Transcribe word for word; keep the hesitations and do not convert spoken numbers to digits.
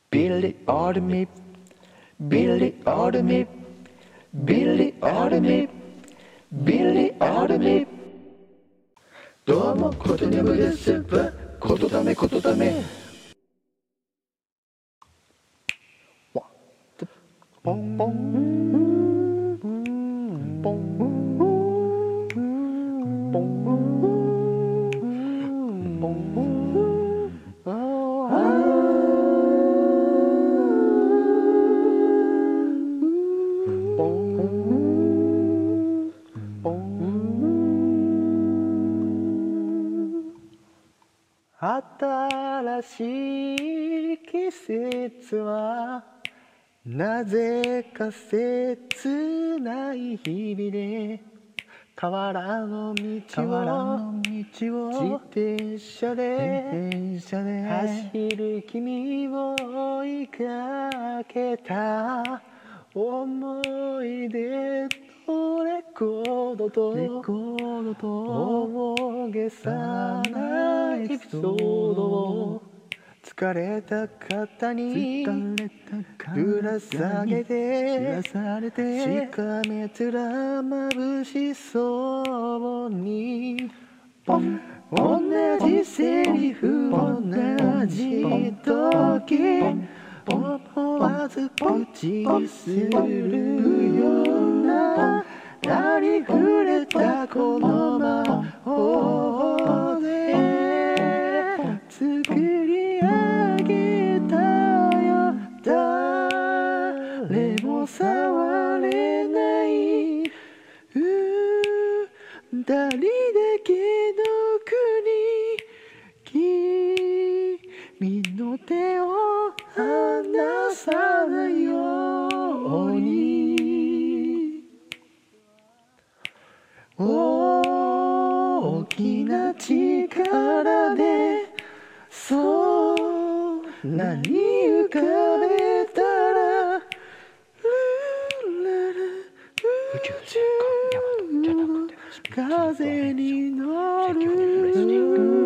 Billy or me, Billy or me, Billy or me, Billy or me。どうもことにゃむですわ、ことだめことだめ。ポンポンポンポンポンポン。新しい季節はなぜか切ない日々で河原の道を自転車で走る君を追いかけた思い出とレコードと大げさなエピソードを疲れた肩にぶら下げてしかめ面まぶしそうに同じセリフ同じ時思わず口にするようなありふれたこの魔法で作り上げたよ誰も触れない二人だけの国君の手を離さないように大きな力で空に浮かべたら宇宙戦艦ヤマトじゃなくて風に乗る